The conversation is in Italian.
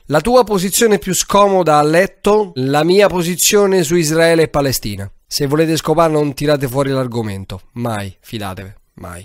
La tua posizione più scomoda a letto, la mia posizione su Israele e Palestina. Se volete scopare non tirate fuori l'argomento, mai, fidatevi, mai.